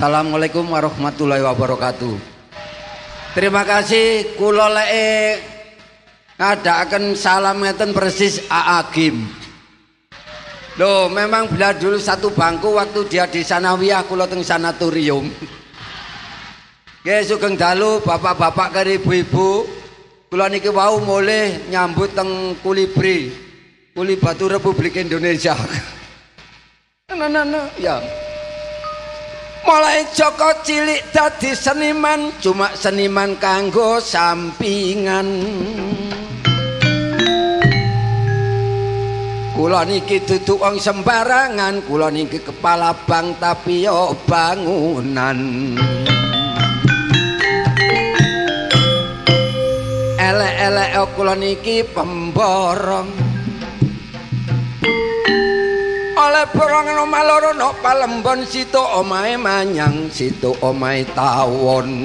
Assalamualaikum warahmatullahi wabarakatuh. Terima kasih kula leke ngadakaken salam ngeten persis Aagim. Loh, memang bila dulu satu bangku waktu dia di sanawiyah kula teng sanatorium. Nggih sugeng dalu bapak-bapak karo ibu-ibu. Kula niki wau mulih nyambut teng Kulibri. Kuli Batu Republik Indonesia. Ya. Mulai Joko cilik dadi seniman, cuma seniman kanggo sampingan. Kula niki dudu wong sembarangan, kula niki kepala bank tapi yo bangunan. Elek-elek kula niki pemborong. Oleh borong omah loro no Palembon situ omahe manyang situ omahe tawon.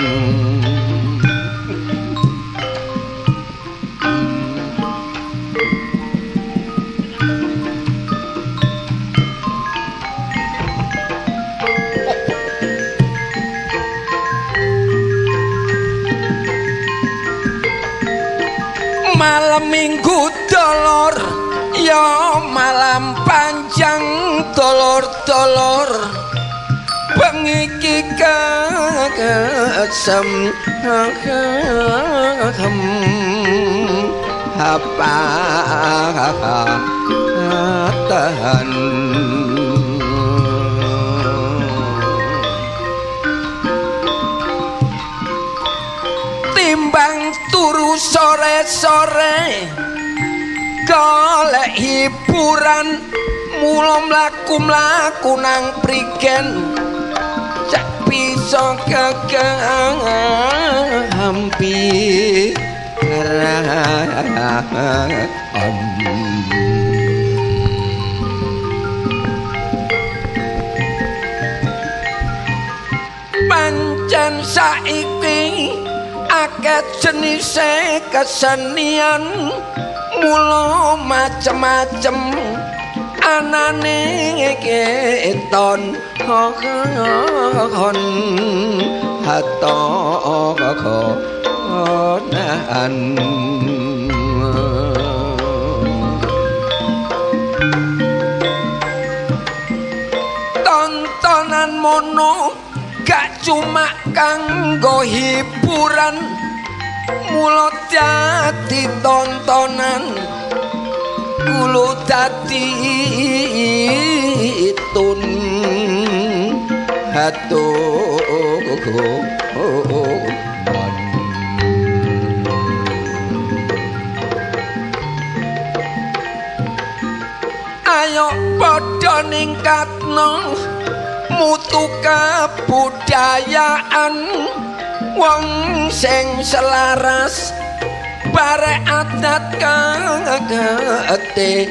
Malam minggu dolor ya malam panjang dolor-dolor bengi iki kesem apa tahan timbang turu sore-sore golek hiburan mula mlaku-mlaku nang prigen cak bisa kegampi pancen saiki akeh jenise kesenian mula macem-macem anane keton hon hatonan tontonan mono gak cuma kanggo hiburan mula dadi tontonan kulo dadi tun hatu ayo padha ningkatno mutu kabudayaan wong sing selaras bare adat kagate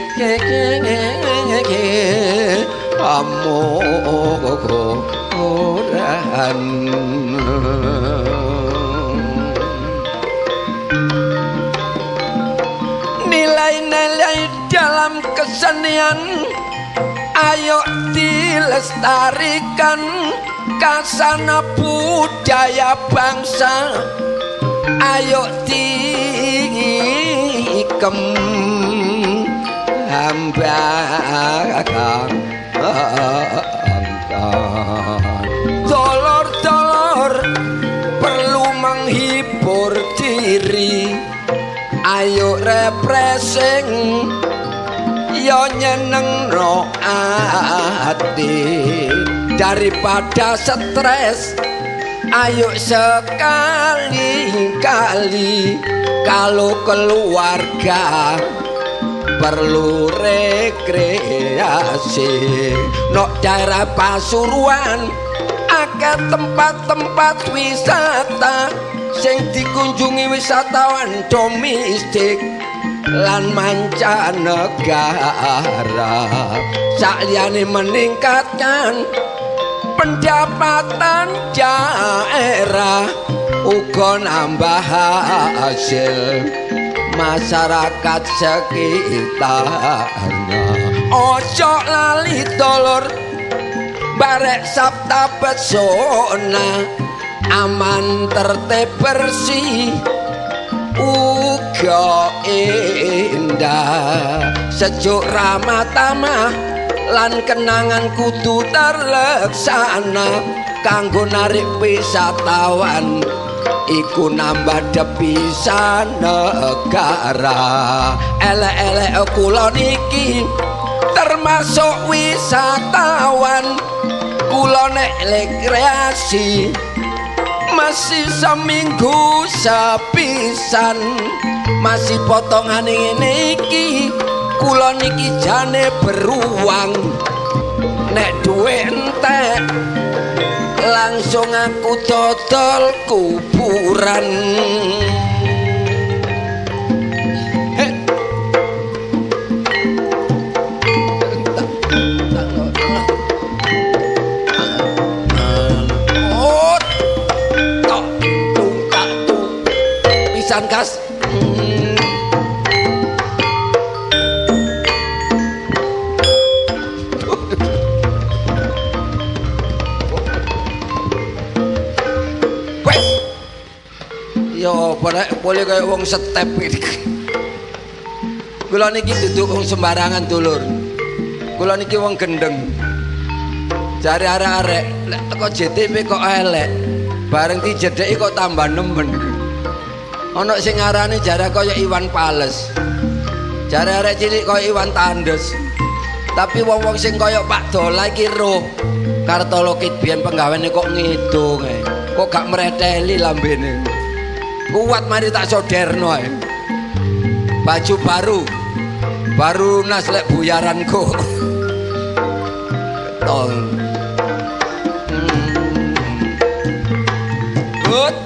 amoran nilai-nilai dalam kesenian ayo dilestarikan kasana budaya bangsa ayo dikem hambakan dolor-dolor perlu menghibur diri ayo refreshing yo nyenengno ati daripada stres ayo sekali-kali kalau keluarga perlu rekreasi nok daerah Pasuruan akeh tempat-tempat wisata sing dikunjungi wisatawan domestik lan mancanegara saliyane meningkatkan pendapatan daerah uga nambah hasil masyarakat sekitarnya. Ojo lali dolor barek sabta pesona aman tertib bersih uga indah sejuk ramah tamah lan kenangan kudu terlaksana kanggo narik wisatawan iku nambah depisan negara elek-elek kula niki termasuk wisatawan kula nek rekreasi masih seminggu sepisan masih potongan ngene iki kula niki jane beruang nek duwe entek langsung aku dodol kuburan pisan kas yo boleh kayak wong step iki. Kula niki duduk wong sembarangan dulur. Kula niki wong gendeng. Jare arek-arek lek teko JTP kok elek. Bareng dijedheki kok tambah nemen. Ana sing ngarani jare kaya Iwan Fals. Jare arek cilik kaya Iwan Tandes. Tapi wong-wong sing kaya Pak Dola iki roh. Kartolo Kid biyen penggaweane kok ngidung ae. Kok gak mreteli lambene. Kuat mari tak soderno ae. Baju baru nas lek buyaranku. Tol. Good.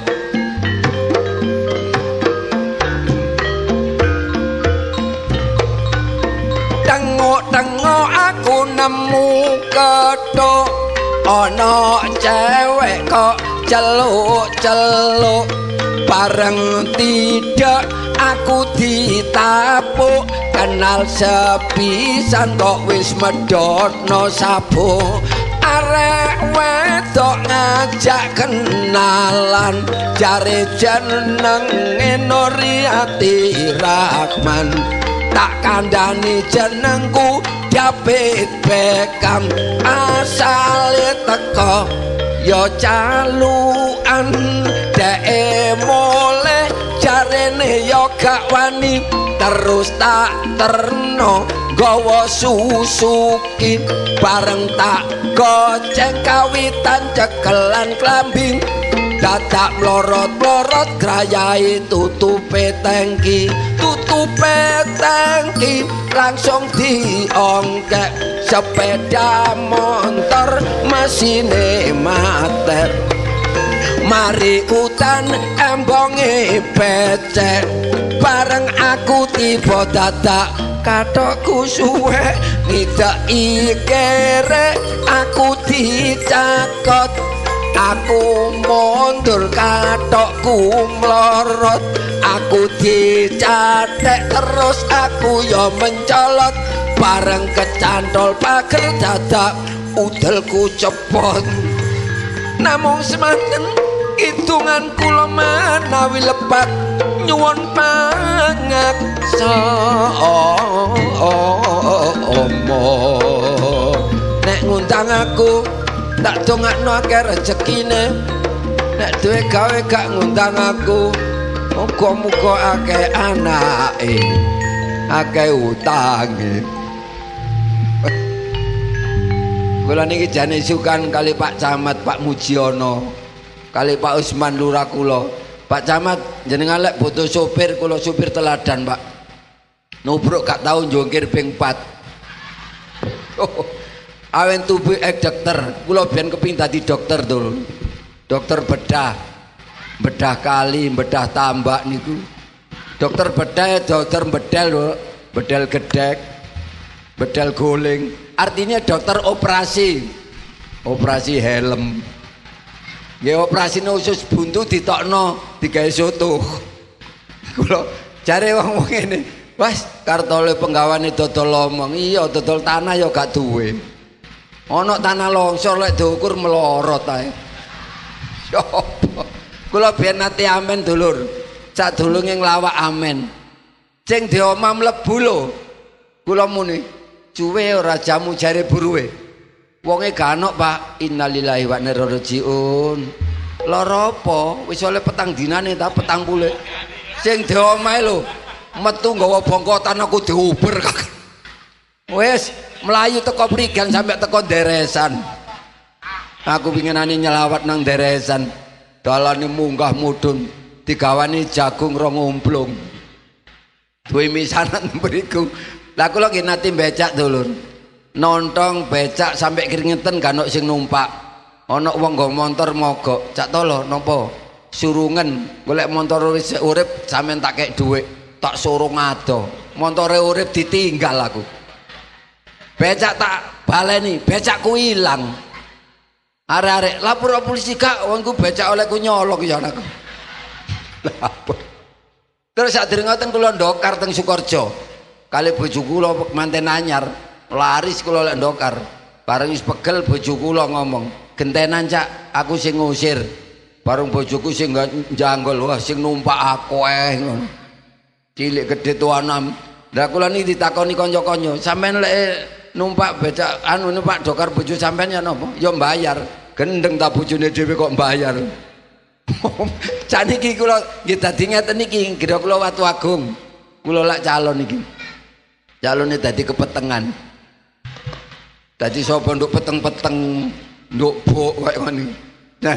Tengok aku nemu kethuk ana cewek kok celuk-celuk bareng tidak aku ditapuk kenal sepisan kok wis medhotno sabuk arek wedok ngajak kenalan jare jenenge Nuriati Rahman tak kandhani jenengku David Beckham asale teko yo calukan dek mole jarene yo gak wani terus tak terno gawa Suzuki bareng tak goceng kawitan cekelan klambing dadak mlorot-mlorot grayai tutupe tangki langsung diongkek sepeda motor mesine mater mari utan embonge becek bareng aku tiba dadak katokku suwe ngidaki kere aku dicakot aku mundur katokku mlorot aku dicatek terus aku yo mencolot bareng kecantol pager dadak udelku cepot namung semanten hitungan kula menawi lepat nyuwun pangaksa nek ngundang aku tak dongakno akeh rezekine nek duwe gawe gak ngundang aku muga-muga akeh anake akeh utange kula niki jane sukan kali Pak Camat Pak Mujiono kali Pak Usman lurah kula Pak Camat jenengan lek butuh sopir kula sopir teladan Pak nubruk gak tau njongkir ping 4 awen tubuh dokter kula biyen kepengin dadi dokter dul dokter bedah kali bedah tambak niku dokter bedah dokter bedel lho bedel gedek bedel guling artinya dokter operasi helm nggih operasi usus buntu ditokno digawe soto kula jare wong ngene wes kartole penggawane dodol omong iya dodol tanah ya gak duwe Ana tanah longsor lek diukur melorot ae. Sopo? Kula biyen nate amen dulur. Sadurunge nglawak amen. Sing di omah mlebu lho. Kula muni, cuwe ora jamu jare buruwe. Wonge ganok, Pak. Innalillahi wa inna ilaihi rajiun. Lara apa? Wis oleh petang dinane ta petang pulih. Sing di omahe lho, metu nggawa bongkotan aku diuber. Wis melayu teko prigan sampai teko deresan. Aku pinginane nyelawat nang deresan. Dalane munggah mudhun digawani jagung rong umplung. Duwe misanan mriku. Lah kula nggih nate becak dulur. Nontong becak sampai keringetan ganok sing numpak. Ana wong nggo montor mogok. Cak tolo napa? Surungen golek montor wis urip sampean tak kek dhuwit. Tak surung ado. Montore urip ditinggal aku. Becak tak baleni, becakku ilang. Arek-arek lapor polisi Kak, wongku becak olehku nyolong ya anakku. Terus sadurunge ngoten kula ndokar teng Sukorejo. Kali bojo kula manten anyar, laris kula lek ndokar. Bareng wis pegel bojo kula ngomong, "Gentenan Cak, aku sing ngusir." Bareng bojoku sing njanggol, wah sing numpak akeh ngono. Cilik gedhe tuanam. Lah kula niki ditakoni kanca-kanca, "Sampeyan lek numpak becak anu numpak dokar bojo sampean ya napa?" "Ya mbayar." "Gendeng ta bojone dhewe kok mbayar." Caniki kula nggih dadi ngeten niki, kira kula Watu Agung. Kula lak calon iki. Calone dadi kepetengan. Dadi sapa nduk peteng-peteng, nduk bok kaya ngene. Nah,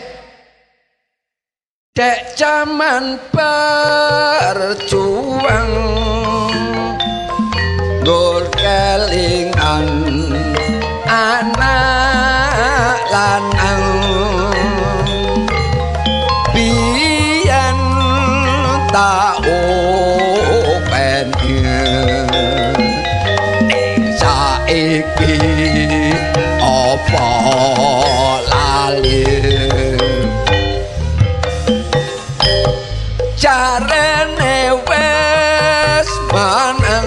dek jaman berjuang nggur kelingan anak lanang biyen tak open saiki apa lali jarene wes manang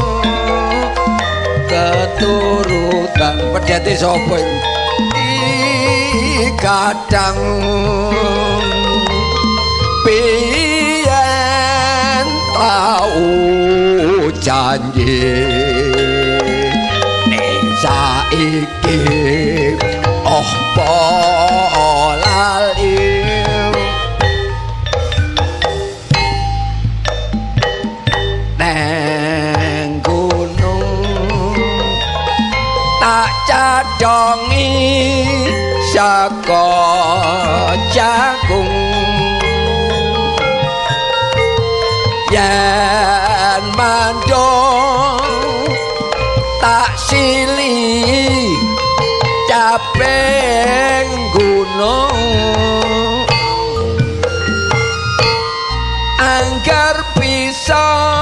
keturutan pedhete sapa iki kadang piyen tau janji ning saiki apa lali neng gunung tak cadongi saka jagung yen mandong tak sili caping gunung anggar bisa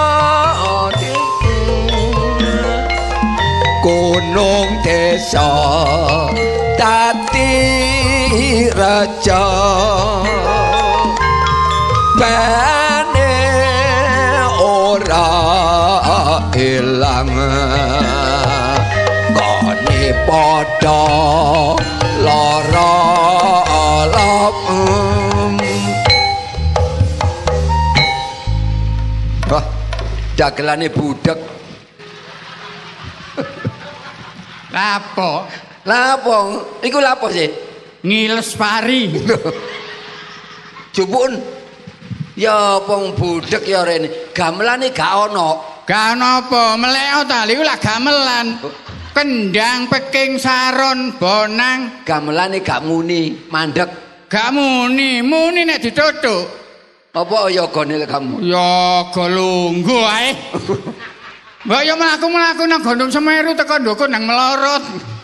gunung desa dadi raja bane ora ilang kone padha lara wah dagelane budek lapo iku lapo sih ngiles pari jupun ya pong budek ya rene gamelane gak ono apa meleo ta iku lak gamelan kendang peking saron bonang gamelane gak muni mandek gak muni nek dituthuk apa yogane kamu yoga lungguh ae mbak ya mlaku-mlaku nang Gunung Semeru teko ndukun nang melorot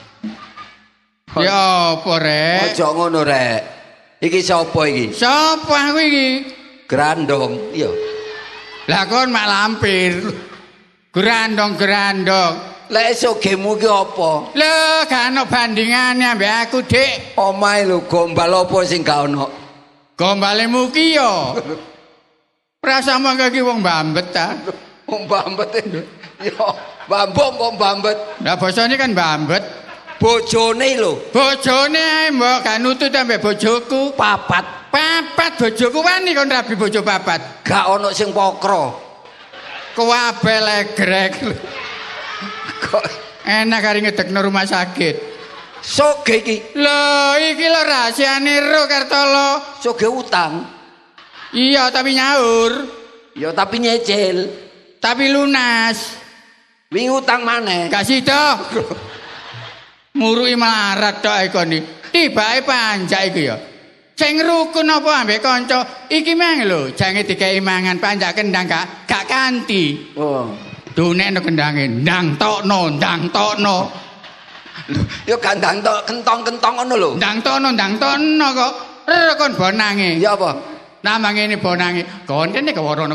ya apa rek aja ngono rek iki sapa iki sapa aku iki grandong iya lah kon mak lampir grandong lek sogemu ki apa lho gak ono bandingane ambek aku dik omahe lho gombal apa sing gak ono gombalemu ki yo prasamu iki wong mbambet ta wong mbambet yo bambom wong mbambet lah basane kan mbambet bojone lho. Bojone ae mbok gak nutut ambek bojoku. Papat. Papat bojoku wani kon rabi bojo papat. Gak ono sing pokro. Kuwabe legrek. Kok enak kari ngedekno rumah sakit. Soge iki. Lho, iki lho rahasiane ro Kartolo. Soge utang. Iya, tapi nyaur. Ya tapi nyecil. Tapi lunas. Wingi utang maneh. Gak sida. Muruki melarat tok ikon iki. Tibake panjak iki ya. Sing rukun apa ambek kanca? Iki mang lho, jange dikei mangan panjak kendang gak kanthi. Oh. Dunekno kendange, ndang tokno, ndang tokno. Yo gandang tok kentong-kentong ngono lho. Ndang tokno kok. Rekon bonange. Ya apa? Nama ngene bonange. Kontene kewarono.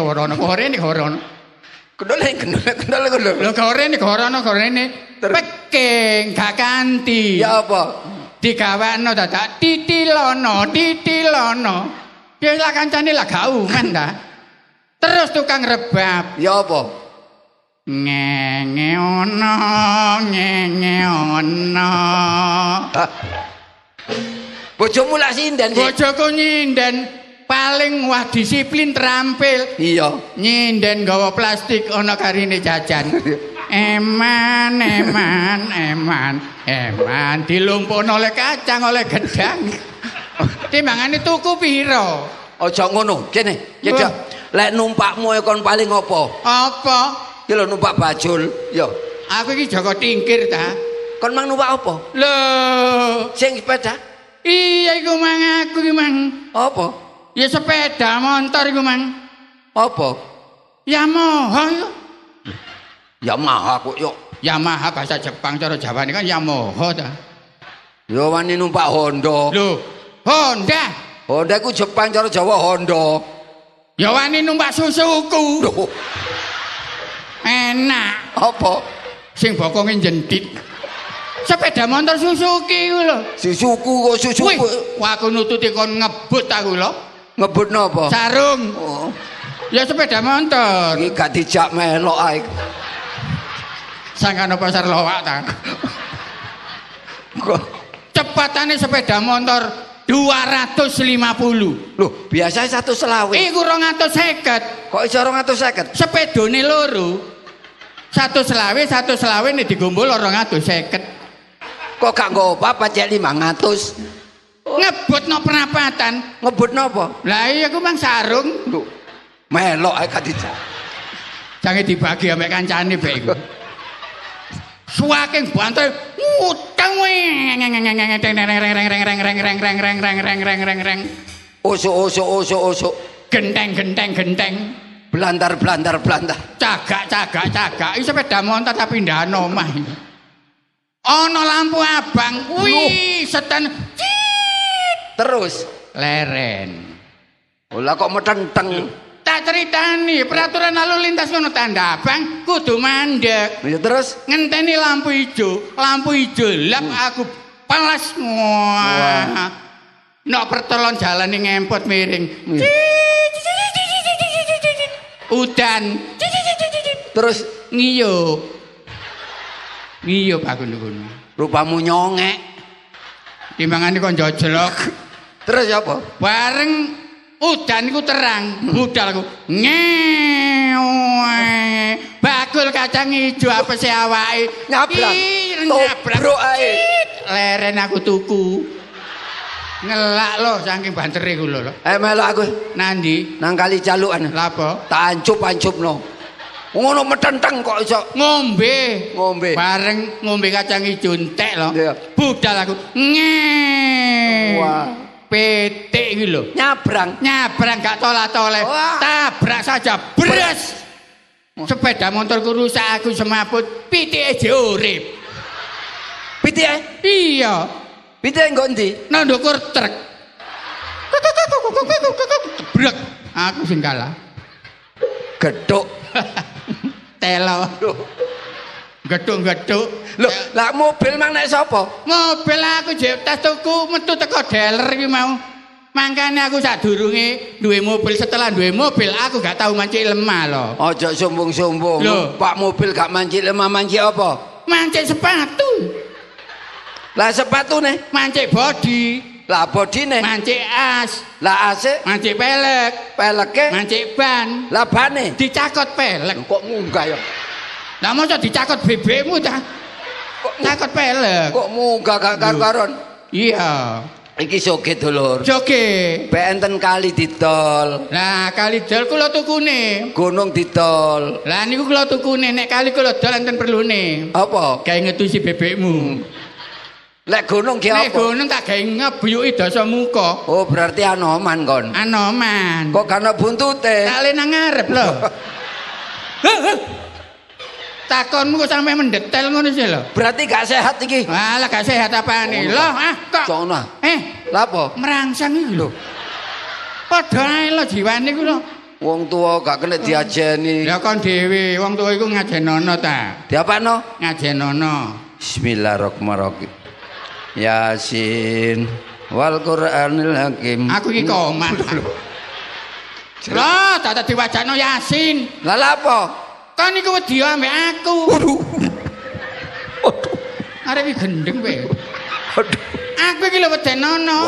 Kendole. Lho gorene. Peking gak kanthi. Ya apa? Digawakno dadak titilono. Ya lah kancane lah gak umen ta. Terus tukang rebab. Ya apa? Ngenge ono. Bojomu lak sinden sih. Bojoku nyinden paling wah disiplin terampil. Iya. Nyinden gawa plastik ana karine jajan. Eman dilumpuhno oleh kacang oleh gedang. Timbangane tuku piro? Aja ngono, kene. Yedak. Lek numpakmu kon paling apa? Apa? Ki lho numpak bajul, ya. Aku iki Joko Tingkir ta. Kon mang numpak apa? Lho, Sing sepeda? iya iku mang aku iki mang. Apa? Ya sepeda motor iku mang. Apa? Yamaha yo. Yamaha kok yo. Yamaha bahasa Jepang cara Jawane kan Yamaha ta. Yo wani numpak Honda. Lho, Honda. Honda ku Jepang cara Jawa Honda. Ya wani numpak Suzuki. Loh, Enak. apa? Sing bokonge jendit. Sepeda motor Suzuki ku lho. Suzuki kok Suzuki. Wih, wah aku nututi kon ngebut aku lho. Ngebutno apa? Sarung. Oh, Ya sepeda motor. iki gak dijak melok ae. Sangkano pasar lowak ta. Kok Cepatane sepeda motor 250. lho, biasa 120. Iku 250. Kok iso 250? Sepedone loro. 120 nek digombol 250. Kok gak nggo apa cek 500? Ngebut no perapatan. Ngebutno apa? Lah iya aku mang sarung. Lho, melok ae gak dijak. Jange dibagi ambek kancane bek iku. Suwaking banter utang Usuk. genteng Blandar. cagak iki sepeda motor tapi ndahan omah ana lampu abang wih setan Terus leren olah kok metenteng. tak ceritani peraturan lalu lintas ngono tanda abang kudu mandek. Ya terus Ngenteni lampu ijo lap aku palas wah. Nok pertolon jalan ngempot miring. Udan. terus Ngiyup aku ngono. rupamu nyongek. Timbangane kok njojlok. Terus apa? Bareng udan iku terang, budal aku. Ngewe. Bakul kacang ijo apese awake Nyabrang. Nyabrang. Tobrok ae. Leren aku tuku. Ngelak lho saking bantere ku lho. Melok aku Nandi? nang kali calukan. Lha apa? Tak ancupno. Ngono metenteng kok iso Ngombe. ngombe. Bareng ngombe kacang ijo entek lho. Iya. Budal aku. Wah. Petik iki lho. Nyabrang. Gak tolak-toleh. Wah. Tabrak saja. Bres. Sepeda motorku rusak aku semaput. Pitike je urip. Pitike? Iya. Pitike nggo ndi? Nang ndukur truk. Brek. Aku sing kalah. Gedhuk. Telo. Gedhuk-gedhuk. Lho, lah mobil mang nek sapa? Mobil aku jek tas tuku metu teko dealer iki mau. Mangkane aku sadurunge duwe mobil setelah duwe mobil aku gak tau mancik lemah lho. Aja sombong-sombong. Lho. Pak mobil gak mancik lemah mancik apa? Mancik sepatu. Lah sepatune mancik body. lah bodine Mancik as. lah ase Mancik pelek. peleke Mancik ban. lah bane Dicakot pelek. kok munggah ya Lah mosok dicakot bebekmu ta? Cakot pelek. kok munggah gak karo-karon Iya. iki soge dulur Joge. be enten kali didol Lah kali dol kula tukune. gunung didol Lah niku kula tukune nek kali kula dol enten perlune. apa Gawe ngetusi bebekmu. lek gunung ki Nek apa gunung tak gawe ngebuyuki dasa muka. oh berarti anoman kon Anoman. kok kana buntute Tak le nang ngarep lho. Takonmu kok sampe mendetel ngono sih lho. berarti gak sehat iki Walah gak sehat apane. Loh, kok. sono Lah apa merangsang iki lho. Padha ae lho jiwane ku lho. wong tua gak kena diajeni Ya kon dhewe, wong tuwa iku ngajenono ta. diapano Ngajenono. Bismillahirrahmanirrahim Yasin wal Qur'anil Hakim Aku iki komat. Loh, tak diwajano Yasin. lah apa Kan iku wedi ambek aku. Arek iki gendeng kowe. Aku iki lho wedenono.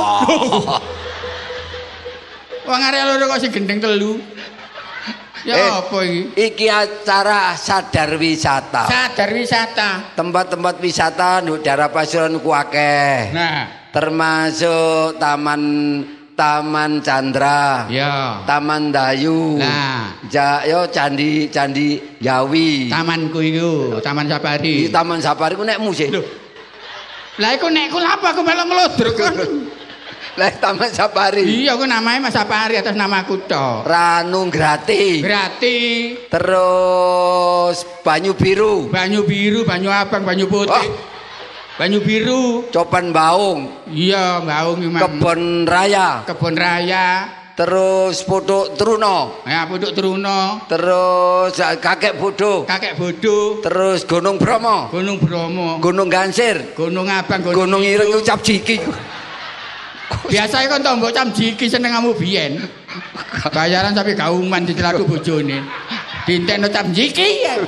Wong arek loro kok sing gendeng telu. Ya apa iki? Iki acara sadar wisata. Sadar wisata. Tempat-tempat wisata di daerah Pasuruan ku akeh. Nah, Termasuk Taman Chandra. ya. Taman Dayu. Nah, Yo Candi Yawi. tamanku iku, Taman Safari. Di Taman Safari ku nekmu sih. Lho. Lah iku nekku lha apa aku melok nglodrok kon. Lah Taman Safari. Iya, aku namanya Mas Safari atas nama aku tok. Ranu Grati. Berarti Terus Banyu Biru. banyu biru, banyu abang, banyu putih. Oh. Banyu biru. Copan Baung. Iya, Baung Imam. Kebon Raya. Kebon Raya. Terus Puduk Truno. Ya, Puduk Truno. Terus Kakek Bodo. Kakek Bodo. Terus Gunung Bromo. Gunung Bromo. Gunung Gansir. Gunung Abang, Gunung Ireng ucap jiki. Biasanya kan tombok cam jiki seneng kamu biyen. Bayaran sampai kauman dicelaku bojone. Dintekno cam jiki ya.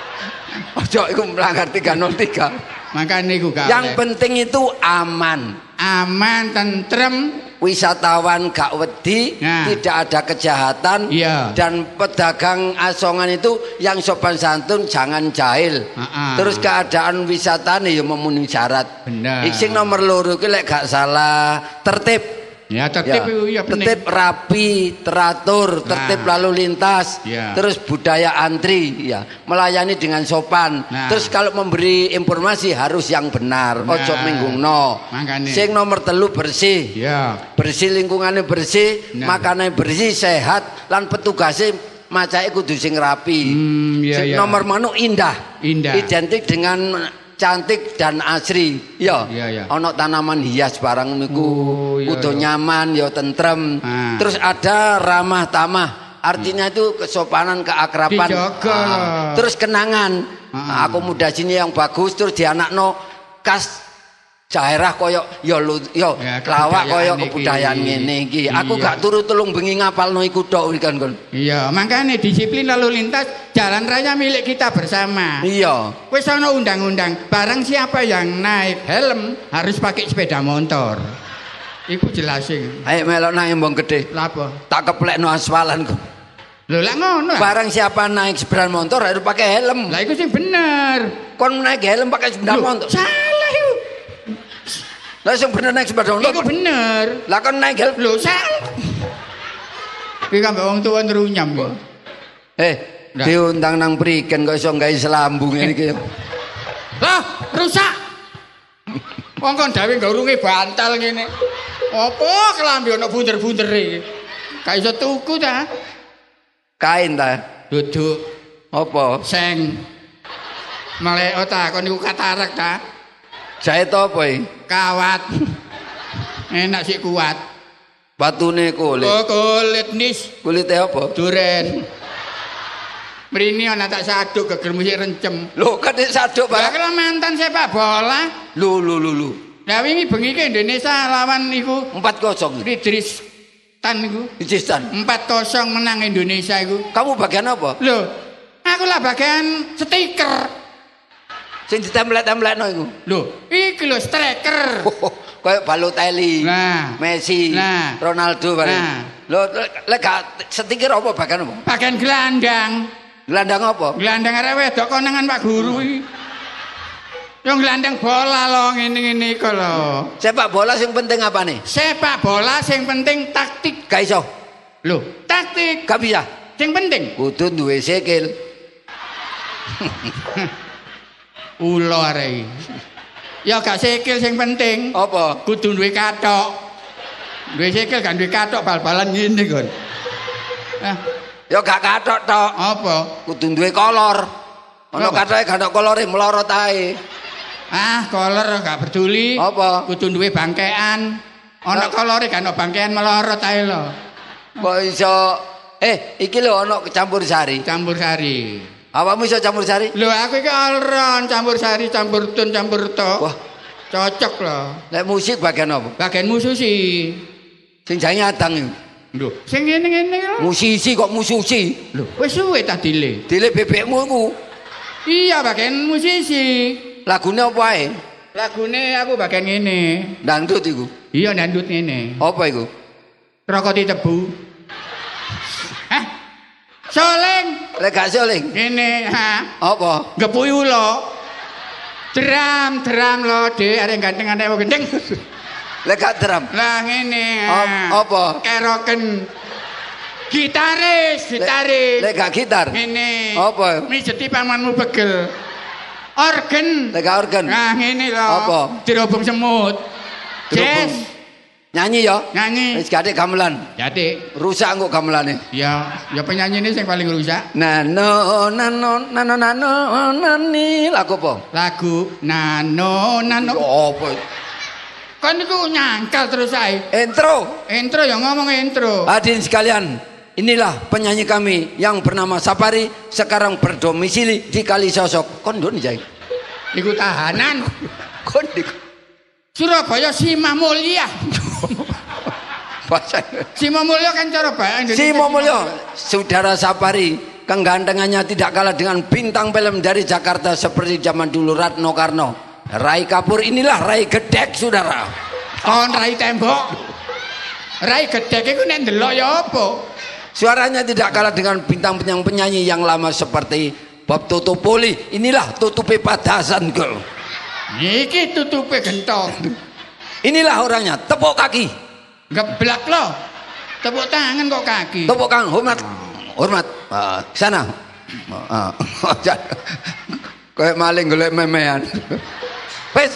Ojo iku melanggar 303. Makane iku gak. Yang penting itu aman. Aman, tentrem. Wisatawan gak wedi, Nah. tidak ada kejahatan. Iya. Dan pedagang asongan itu yang sopan santun jangan jahil. Terus keadaan wisata nih memenuhi syarat. Bener. Sing nomor loro ki lek gak salah tertib. Ya tertib itu ya penting. Tertib rapi, teratur, tertib lalu lintas. Ya. Terus budaya antri, ya, melayani dengan sopan. Nah. Terus kalau memberi informasi harus yang benar, Nah. ojo menggungno. Makanya. Sing nomor telu bersih. Ya. Bersih lingkungannya bersih, Nah. makanannya bersih, sehat, lan petugasnya macake kudu sing rapi. Iya, Sing iya. nomor manu indah. Indah. Identik dengan cantik dan asri. Ya. Iya, iya. Ono tanaman hias barang niku. Oh, iya, Kudu iya. nyaman, ya tentrem. Ah. Terus ada ramah tamah. Artinya itu kesopanan, keakraban. Dijaga. Terus kenangan. Ah. Akomodasinya yang bagus, terus dianakno kas daerah koyo ya Ya, lawak koyo kebudayaan kebudayaan iki. ngene iki. Aku Iya. gak turu tulung bengi ngapalno iku tok kan kon. Iya, makanya disiplin lalu lintas jalan raya milik kita bersama. Iya. Wis ana undang-undang, barang siapa yang naik helm harus pakai sepeda motor. Iku jelasin. Ayo melok nang embong gede. Lah apa? Tak keplekno asfalan kok. Lho lah ngono. Barang siapa naik sepeda motor harus pakai helm. Lah iku sing bener. Kon naik helm pakai sepeda Loh, motor. salah iku. Lah sing bener naik sepeda motor. Iku bener. Lah kon naik helm. Lho salah. Iki kan wong tuwa nrunyam kok. Nah. Diundang nang prigen kok iso gawe selambung ngene iki. Lah, rusak. Wong kon dawuh ngurunge bantal ngene. Apa kelambi ana bunder-bundere? Gak iso tuku ta? Kain ta? Duduk Apa? seng. Melek ta kon niku katarak ta? Jahit apa iki? Kawat. Enak sih kuat. Batune kulit. Oh, kulit nis Kulite apa? duren. Mrini ana tak saduk geger musik rencem. Lho kan saduk Lah Pak. kalau mantan sepak bola. Lu. Lah wingi bengi ke Indonesia lawan iku 4-0. Idris Tan iku. Ijistan. 4-0 menang Indonesia iku. Kamu bagian apa? Loh, aku lah bagian stiker. Sing ditempelek-templekno iku. Lho, iki lho striker. Kayak Balotelli, Nah. Messi, Nah. Ronaldo bareng. Nah. Lho lek gak setikir apa bagian apa? Bagian gelandang. Gelandang apa? Gelandang arek wedok konangan Pak Guru iki. Yang gelandang bola lo ngene-ngene iku lho. Sepak bola sing penting apa nih? Sepak bola sing penting taktik. Gak iso. Lho, taktik. Gak bisa. Sing penting. Kudu duwe sikil. Ulo arek iki. Ya gak sikil sing penting. Apa? Kudu duwe kathok. Duwe sikil gak duwe kathok bal-balan ngene kon. Nah, Ya gak kathok tok. apa? Kudu duwe kolor. Ana Apa? kathoke gak ono kolore melorot ae. Ah, kolor gak peduli. Apa? Kudu duwe bangkean. Ana kolore gak ono bangkean melorot ae lho. Kok iso iki lho ana campur sari. Campur sari. Awakmu iso campur sari? Lho aku iki alron campur sari, campur tun, campur tok. Wah, Cocok lho. lek musik bagian apa? Bagian musisi. Sing jange adang iku. Lho, sing ngene-ngene lho. Musisi kok musisi. Lho, wis suwe ta dile. Dile bebekmu iku. Iya, bagian musisi. Lagune apa ae? Lagune aku bagian ngene. Dangdut iku. Iya, ndandut ngene. Apa iku? Rokoti tebu. Hah? Soleng. Lek gak seling. Ngene, ha. Apa? Gepuy ulo. Dram lo, Dek, arek ganteng arek gendeng. Lek gak drum. Lah ngene. Apa? Keroken. Gitaris. Lek gak gitar. Ngene. Apa? Mijeti pamanmu begel. Organ. Lek gak organ. Nah, ngene lho. Apa? Dirobong semut. Dirobong. Jazz. Nyanyi ya? Nyanyi. Wis gak gamelan. Jadi, Rusak kok gamelane. ya penyanyi ini yang paling rusak. Nano nani lagu apa? Lagu Nano. Ya apa? Kan itu nyangkal terus saya. Intro yang ngomong intro. Hadirin sekalian, inilah penyanyi kami yang bernama Sapari, sekarang berdomisili di Kalisosok. Kondon jai. Iku tahanan. Kondik. Surabaya Simah Mulia. Bahasa Simah Mulia kan cara bahasa Indonesia. Simo Mulyo, saudara Sapari, kegantengannya tidak kalah dengan bintang film dari Jakarta seperti zaman dulu Ratno Karno. Rai Kapur, inilah Rai Gedek, saudara. Kon Rai tembok. Rai Gedek iku nek ndelok ya apa? Suaranya tidak kalah dengan bintang penyanyi yang lama seperti Bob Totopoli. Inilah tutupe padasan girl. Iki tutupe gentong. Inilah orangnya, tepuk kaki. Geblak lo. Tepuk tangan kok kaki. Tepuk kaki, hormat. Sana. Kayak maling golek memean. Wes.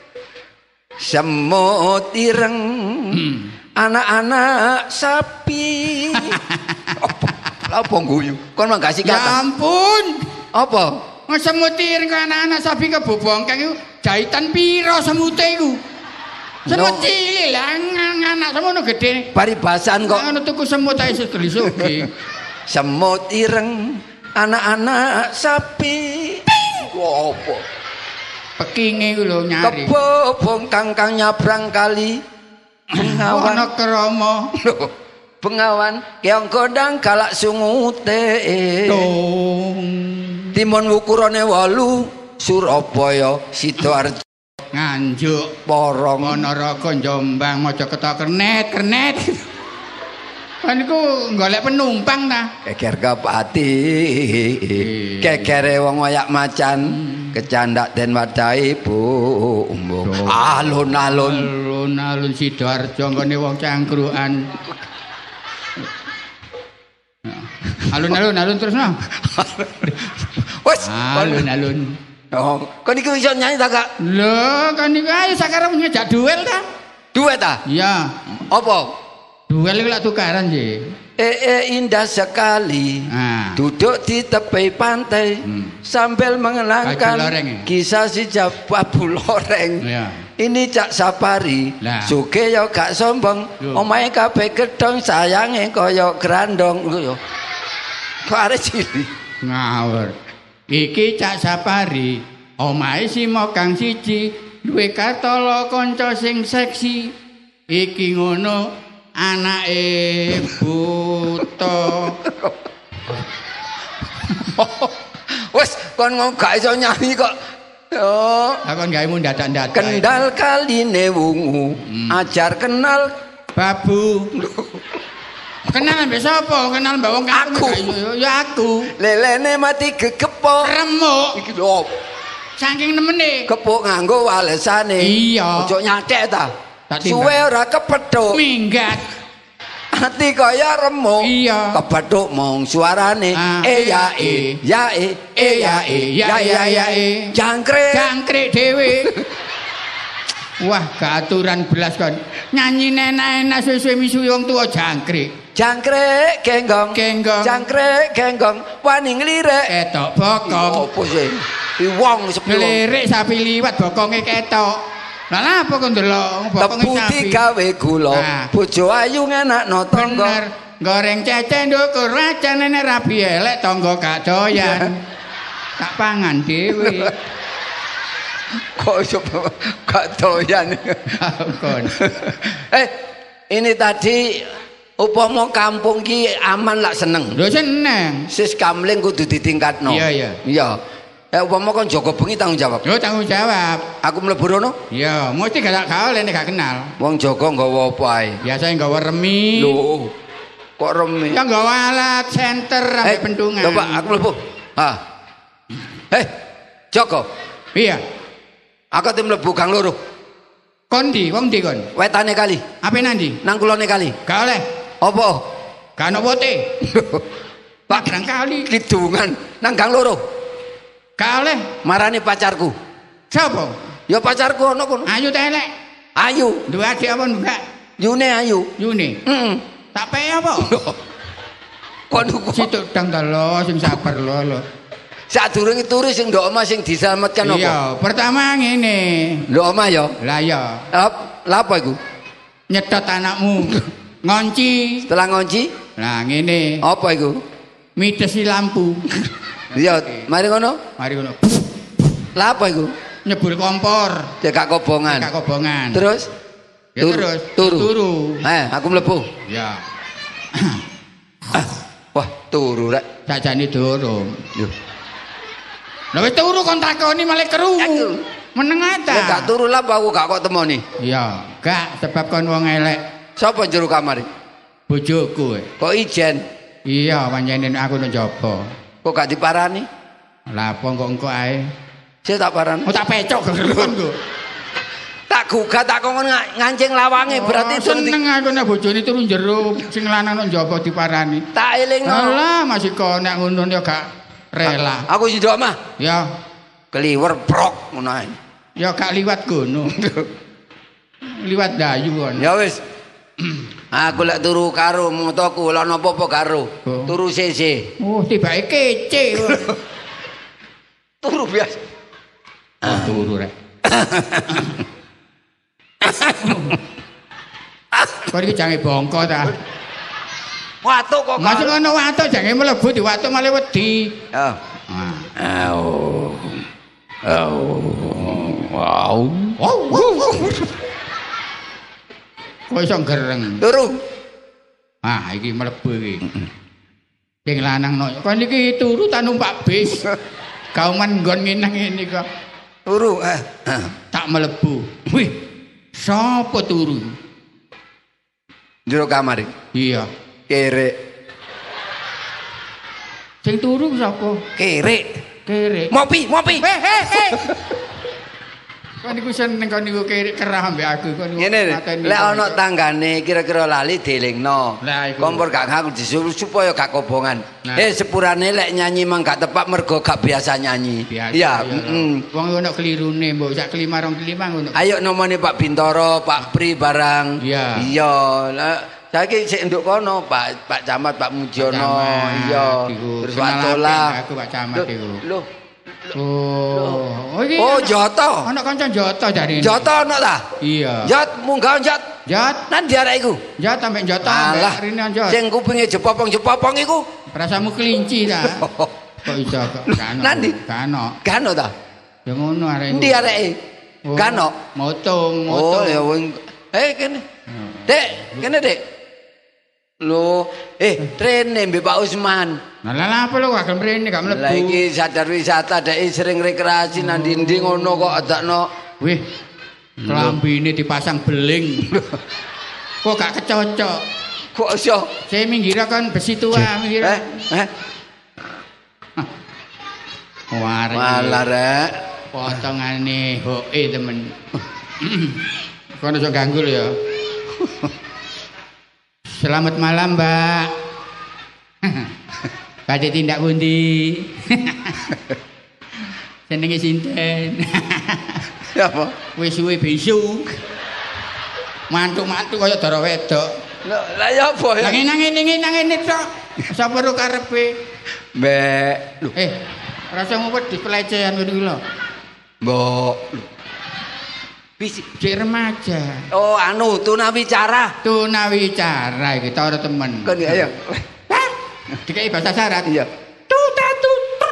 Semut ireng. Anak-anak sapi. Apa guyu? Kon mah gak Ya kata. ampun. Apa? Semutir ke anak-anak sapi ke bobongkang itu jahitan piro semute iku. Semut cilik lah anak semono gede. Paribasan kok. Ngono tuku semut ae sugih. Semut ireng, anak-anak sapi. Apa? Pekinge iku lho nyari. Kebobong kangkang nyabrang kali. Bengawan. Ono kromo. Loh, Bengawan keong kodang kalak sungute. Dong. Timun ukurane 8, Surabaya, Sidoarjo, Nganjuk, Porong. Ponorogo, Jombang, Mojokerto, kernet. Kan iku golek penumpang ta. Keker Kapati, kekere wong wayak macan, kecandak den wadahi bumbung. Alun-alun. Alun-alun Sidoarjo nggone wong cangkruan. Alun-alun terus no. Wes, Alun-alun. oh, kon iku iso nyanyi ta, Kak? Lho, kan iku ayo sakarep ngejak duel ta? Duet ta? Iya. Apa? Duel iku lak tukaran sih. Indah sekali. Nah. Duduk di tepi pantai sambil Baju mengenangkan loreng ya? kisah si Babu Loreng. Iya. Ini Cak Sapari, Lah. suge yo gak sombong, Yo. omahe kabeh gedhong sayange kaya grandong. Lho yo. Kok arek cilik. Ngawur. Iki Cak Sapari, omahe si Mokang siji, duwe katala kanca sing seksi. Iki ngono anake buta. Wes kon ngomong gak iso nyanyi kok Oh, Aku gawe dadak-dadak. kendal kaline wungu, ajar kenal babu. Kenal mbek sapa? Kenal mbek wong Aku. Ya aku. lelene mati gegepok. Remuk. Iki lho, Saking nemene. kepuk nganggo walesane. Iya. Ojo nyathek ta. Tak timbang. Suwe ora kepethuk. Minggat. Ati kaya remuk. Iya. Kepethuk mong suarane. Ah, Ya ya ya ya. Jangkrik. Jangkrik dhewe. Wah, keaturan belas kon. Nyanyi enak-enak suwe-suwe misuwi wong tuwa jangkrik. Jangkrik genggong. Genggong. Jangkrik genggong. Wani nglirik. Ketok bokong. Opo sih? Di wong sepi wong. Ngelirik sapi liwat bokonge ketok. Lah napa kok ndelok bokonge Tebu sapi? digawe gula. Nah. Bojo ayu ngenakno tangga. Bener. Goreng cecek ndukur rajanane rabi elek tangga gak doyan. Tak pangan dhewe. Kok iso gak doyan. Kon. Ini tadi upama kampung ki aman lak seneng. Lho seneng. Sis kamling kudu ditingkatno. Iya, iya. Iya. Upama kon jaga bengi tanggung jawab. Yo tanggung jawab. Aku mlebu rono, Iya, mesti gak oleh nek gak kenal. wong jaga nggawa apa ae. Biasanya nggawa remi. Lho, kok remi? Ya nggawa alat senter sampai pentungan. Coba aku mlebu. Joko. Iya. Aku tim mlebu gang loro. Kon ndi? Wong ndi kon? Wetane kali, Ape nandi? nang kulone kali. Gak oleh. Apa? Gak ono wote. Pak kali. Kidungan nang gang loro. Gak oleh. Marani pacarku. Sapa? Ya pacarku ono kono. Ayu ta elek. Ayu, Duwe adik apa enggak? Yune ayu. Yune. Heeh. Tak pe apa? Kon Situ dang ta lo sing sabar lo. sadurunge turu sing ndok omah sing diselametkan apa? Iya, pertama ngene. Ndok omah ya. Lah ya, Lah apa iku? nyedot anakmu. Ngonci. Setelah ngonci, Nah, ngene. apa iku? Midesi lampu. Iya, mari ngono. Mari ngono. Lah apa iku? Nyebul kompor. Cekak kobongan. Kak kobongan. Terus Ya terus turu. Aku mlebu. Ya. Wah, turu rek. Sajane durung. Yo. Lah wis turu kon takoni malah krungu. Meneng Lek ta. gak turu lah aku gak kok temoni. Iya, gak sebab kon wong elek. Sapa jero kamar? Bojoku. Kok ijen? Iya, pancen aku nang jaba. Kok gak diparani? Lah apa kok engko ae? Saya tak parani. Oh tak pecok kon go. Tak gugat tak kongkon ngancing lawange berarti seneng aku nek bojone turu jero, sing lanang nang jaba diparani. tak elingno. Alah, masih kok nek ngono ya gak rela. Aku sing ndok mah Ya, keliwer prok ngono ae. ya gak liwat gono. Liwat dayu kon. Ya wis. Aku lek turu karo motoku lha napa apa karo. Oh. Turu sese. Oh, tibake kece. Turu biasa. Turu rek. Kok iki jange bongko ta? Watuk kok. Masuk ngono watuk jange mlebu di watuk malah wedi. Ya. Wow. Kok iso gereng. Turu. Ah, iki mlebu iki. Sing lanang no. Kon iki turu ta numpak bis. Kauman nggon ngene kok. Turu. Tak mlebu. Wih. Sapa turu? Jero kamar iki. Iya. Kerek. Sing turu sapa? Kerek. Kerek. Mopi. Hei. Kon niku seneng kon niku kerah ambek aku kon niku. Ngene lek ana tanggane kira-kira lali dielingno. Lah, iku. Kompor gak ngaku disuruh supaya gak kobongan. Nah. Sepurane lek nyanyi mang gak tepak mergo gak biasa nyanyi. Iya, Wong ono kelirune mbok sak kelima rong kelima ngono. Ayo nomone Pak Bintoro, Pak Pri barang. Iya. Iya. Lah saiki sik nduk kono Pak Camat, Pak Mujiono. Iya. Terus Pak Tola. Aku Pak Camat iku. Loh. Oh, iki. Oh, Joto. Ana kanca Joto jarine. Joto ono ta? Iya. Jot munggah jot. Jot, Nan diarek iku. Jot sampe Joto Alah, rene Jot. sing kupinge jepopong-jepopong iku. Rasamu kelinci ta? Kok iso kok kan? Nandi? Kano. Gano ta? Ya ngono arek. Endi areke? Gano. Motung. Oh, ya wing. Kene. Dek, kene, Dek. Lho, rene mbek Pak Usman. Lah apa lho kok mrene gak mlebu. Lah iki sadar wisata dek sering rekreasi nang ndi ngono kok adakno. Wih. Klambine dipasang beling. Kok gak kecocok. Kok iso? Saya minggir kan besi tua minggir. Malah rek. Potongane hoke temen. Kono iso ganggu lho ya. Selamat malam, Mbak. Badhe tindak pundi? Senenge sinten? Apa? Wis suwe bisu. Mantu-mantu kaya dara wedok. Lah ya apa ya? Nang ngene tok. Sapa ro karepe? Mbak. Rasa ngumpet di pelecehan ngene iki lho. Mbok. Bisi Cek remaja. Oh, anu tunawicara. Tunawicara iki ta ora temen. Kon ayo. Dikai bahasa syarat. Iya. Tuta tutur.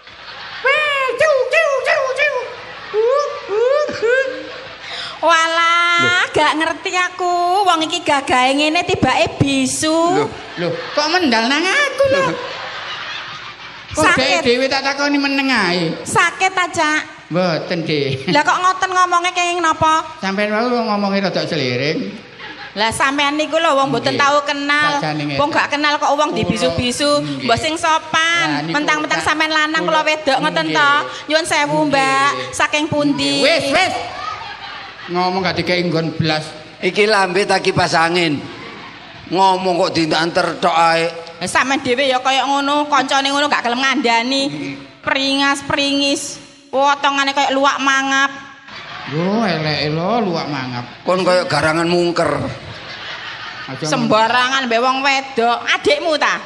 Walah, gak ngerti aku. Wong iki gagahe ngene tibake bisu. Loh, kok mendal nang aku lho. Sakit dhewe tak takoni meneng ae. Sakit aja. Mboten, Dik. Lah kok ngoten ngomongnya kenging napa? Sampeyan wae ngomongnya rada seliring. Lah sampean niku lho wong mboten tahu kenal. Wong gak kenal kok wong dibisu-bisu. Mbok sing sopan. Mentang-mentang sampean lanang kula wedok ngoten to. Nyuwun sewu, Mbak. Saking pundi? Wis. Ngomong gak dikei nggon blas. Iki lambe tak kipas angin. Ngomong kok diantar tok ae. Sampeyan dhewe ya kaya ngono, kancane ngono gak gelem ngandani. Pringis. Potongane kaya luwak mangap. Yo eleke lho luwak mangap. Kon kaya garangan mungker. Sembarangan mbek wong wedok. Adikmu ta?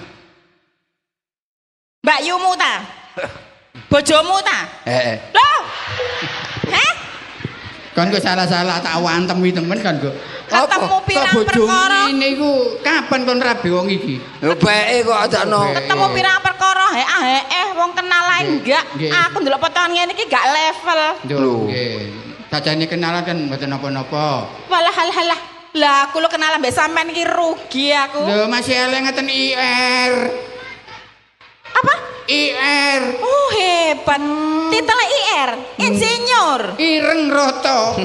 Mbak Yumu ta? Bojomu ta? Heeh. Loh. Heh? Kon kok salah-salah tak wantem wi temen kan kok. Ketemu pirang perkara. Niku kapan kon rabi wong iki? Lho beke kok adakno. Ketemu pirang perkara wong kenalan enggak. Aku ndelok potongan ngene iki gak level. Lho, nggih. Sajane kenalan kan mboten napa-napa. Walah halah. Lah aku lo kenalan mbek sampean iki rugi aku. Lho masih eleng ngeten IR. Apa? IR. Oh hebat. Titel IR, insinyur. Ireng roto.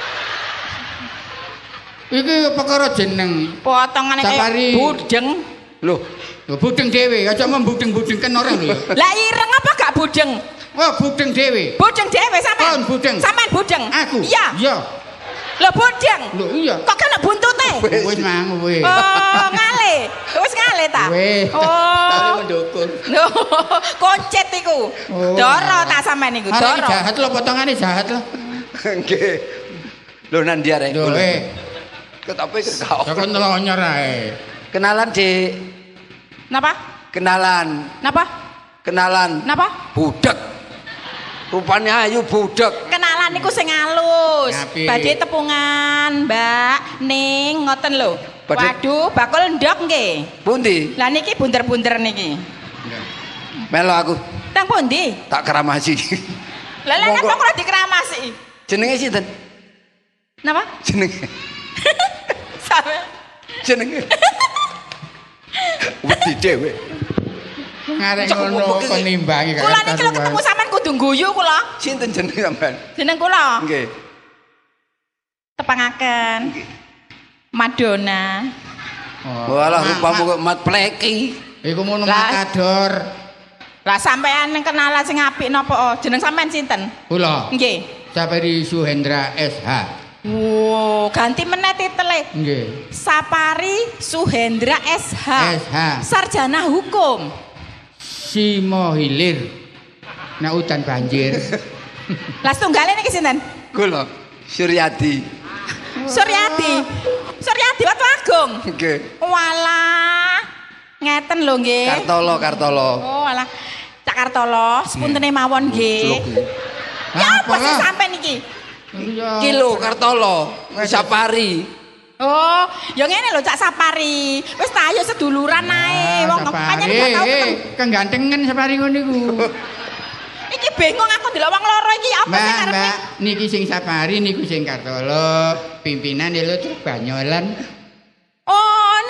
Iki perkara jeneng. Potongane kaya budeng. Loh, budeng dhewe, aja membudeng-budengken orang lho. Lah ireng apa gak budeng? Oh, budeng dhewe. Budeng dhewe sampean. Kon budeng. Sampean budeng. Aku. Iya. Iya. Lho budeng. Lho iya. Kok kena buntute? Wis mang wis. Oh, ngale. Wis ngale ta? Wis. Oh. Tali mendukung. Lho, koncet iku. Doro ta sampean iku, doro. Jahat lho potongane jahat lho. nggih. Lho nang ndi arek? Lho Ketope kau. Kok nonyor ae. Kenalan, Dik. Napa? Kenalan. Napa? Kenalan. Napa? Budek. Rupanya ayu budek. Kenalan niku sing halus. Badhe tepungan, Mbak. Ning ngoten lho. Waduh, bakul ndok nggih. Pundi? Lah niki bunder-bunder niki. Melo aku. Tang pundi? Tak keramasi. Lah lha napa kok dikeramasi? Jenenge sinten? Napa? Jenenge. Sampe. Jenenge. Wedi dhewe. Ngarek ngono kon nimbangi gak. Kula niki lho ketemu sampean kudu guyu kula. Sinten jenenge sampean? Jeneng kula. Nggih. Tepangaken. Madonna. Walah rupamu kok mat pleki. Iku mono matador. Lah sampean kenalan sing apik napa? Jeneng sampean sinten? Kula. Nggih. Sapari Suhendra SH. Wow, ganti meneh titele. Nggih. Sapari Suhendra SH. SH. Sarjana hukum. Simo hilir. Nek udan banjir. Lah tunggale niki sinten? Kula Suryadi. Suryadi. Suryadi Watu Agung. Nggih. Walah. Ngeten lho nggih. Kartolo. Oh, walah. Cak Kartolo, sepuntene mawon nggih. Ya apa sih sampean iki? Kilo Kartolo, Sapari. Oh, ya ngene lho Cak Sapari. Wis ta ayo seduluran ae. Wong pancen gak tau ketemu. Kegantengan Sapari ngono iku. Iki bingung aku delok wong loro iki apa sing karepe? Mbak, niki sing Sapari niku sing Kartolo, pimpinan lho terus banyolan. Oh, niki.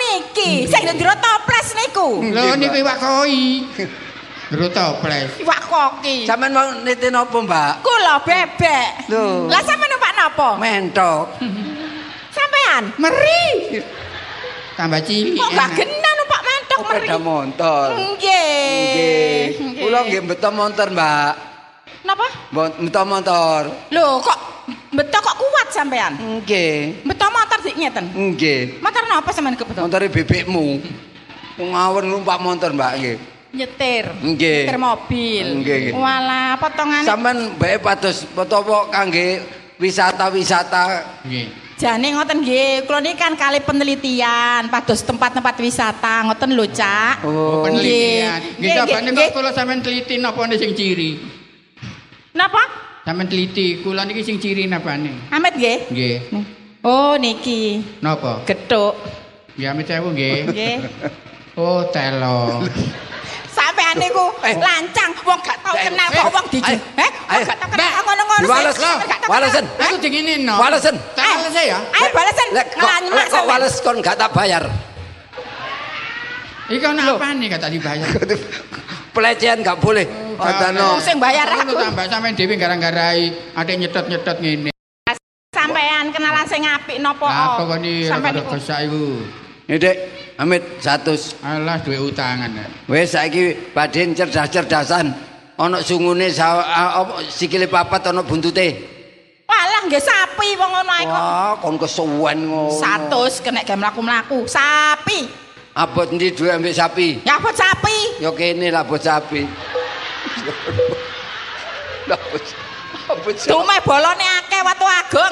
iki, sing ndiro toples niku. Lho niku iwak koi. Ndiro toples. Iwak koki. Sampeyan mau niti napa, Mbak? Kula bebek. Lho. Lah sampeyan numpak napa? Mentok. Sampeyan Meri. Tambah cilik. kok gak genah numpak mentok meri. Sepeda motor. Nggih. Kula nggih mbeto motor, Mbak. Napa? Mbeto motor. Lho kok beto kok kuat sampean? Nggih. Beto motor dik ngeten. Nggih. Motor napa sampean kebeto? Montore bebekmu. Ngawon numpak motor, Mbak nggih. Nyetir. Nggih. Nyetir mobil. Nggih. Walah potongane. Sampeyan bae pados apa kangge wisata-wisata. Nggih. Jane ngoten nggih, kula niki kan kali penelitian pados tempat-tempat wisata ngoten lho, Cak. Oh, penelitian. Nggih, Nggih, nggih kula sampean teliti napa sing ciri? Napa? Sampeyan teliti, kula niki sing ciri napane? Amit nggih. Nggih. Oh, niki. Napa? Gethuk. Nggih, amit sewu nggih. Nggih. Oh, telo. Sampean niku lancang, wong gak tau kenal kok wong diju. Kok gak tau kenal ngono-ngono. Diwales lho. Walesen. Aku dinginin no. Walesen. Walesen ya. Ayo balesen. Ngelanyemak Kok wales kon gak tak bayar. Iki ana apane gak tak dibayar? Pelecehan gak boleh. Adano. Sing bayar aku. Tambah sampean dhewe gara-garai ade nyedot-nyedot ngene. Sampean kenalan sing apik napa? Apa kok ni Sampean rada niku. gesak iku? Nih, Dek. Amit 100. Alah duwe utangan. Wes saiki badhe cerdas-cerdasan. Ana sungune sikile papat ana buntute. Walah nggih sapi wong ngono ae kok. Wah, kon kesuwen ngono. 100 kena ge mlaku-mlaku. Sapi. Abot ndi duwe ambek sapi? Nyabot sapi. Ya kene lah bot sapi. Abot sapi. Dume bolone akeh watu agung.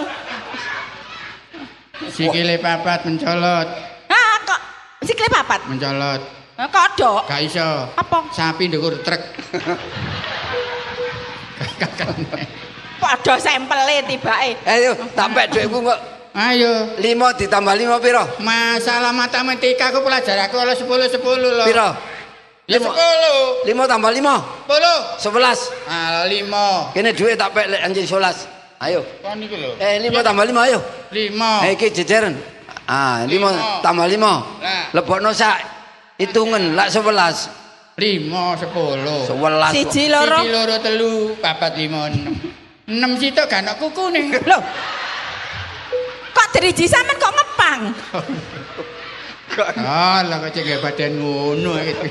Sikile papat mencolot, Ah kok sikile papat. mencolot. Kodok. Gak iso. Apa? Sapi ndukur truk. Padha sempele tibake. Ayo, tampek dhuwitku kok. Ayo. 5 ditambah 5 piro? Masalah matematika aku pelajar aku oleh 10 loh. Piro? Ya 10. 5 tambah 5. 10. 11. Ah 5. Kene dhuwit tak pek lek anjing 11. Ayo. Kon niku lho. 5 tambah 5 ayo. 5. Iki jejeren. Ah, 5 tambah 5. Lah. Lebokno sak hitungan lak 11. 5 10. 11. Siji loro. Siji loro telu 4 5 6. 6 sitok gak ana kukune. Lho. Kok driji sampean kok ngepang? Alah kok cek badan ngono iki.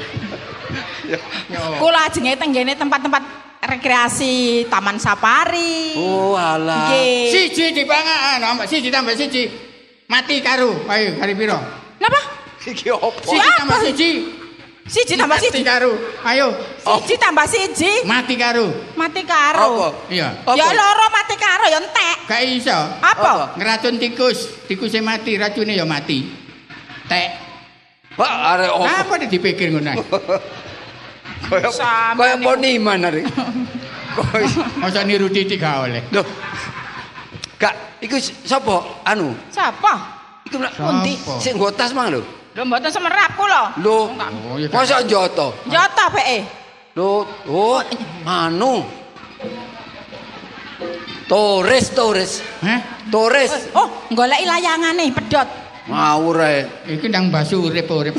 Kula ajenge tenggene tempat-tempat rekreasi, taman safari. Oh, alah. Nggih. Siji dipangan, siji tambah siji. Mati karo. Ayo, hari piro? Napa? Iki opo? Siji tambah siji. Siji tambah Mati siji. karo. Ayo, Siji tambah siji. mati karo. Mati karo. Apa? Iya. Ya loro mati karo ya entek. Gak iso. Apa? Ngeracun tikus, tikusnya mati, racunnya ya mati. Tek. Pak arek opo? Apa dipikir ngono? Kaya poniman arek. Masa niru titik gak oleh. Loh. Kak, iku sapa? Anu. Siapa? Iku nak Pundi? sing nggo tas mang lho. Lho mboten semerap kula. Lho. Oh, ya Masa njoto? Jota peke. Lho, oh, anu. Torres. Hah? Torres. Oh, goleki layangane pedhot. Ngawur ae. Iki ndang basu urip-urip.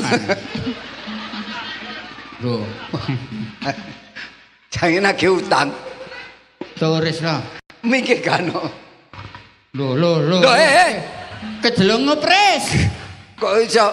Lho, Jange nagih utang. turis lah. Mikir kano. Lho. Lho, Kejelung ngepres. kok iso?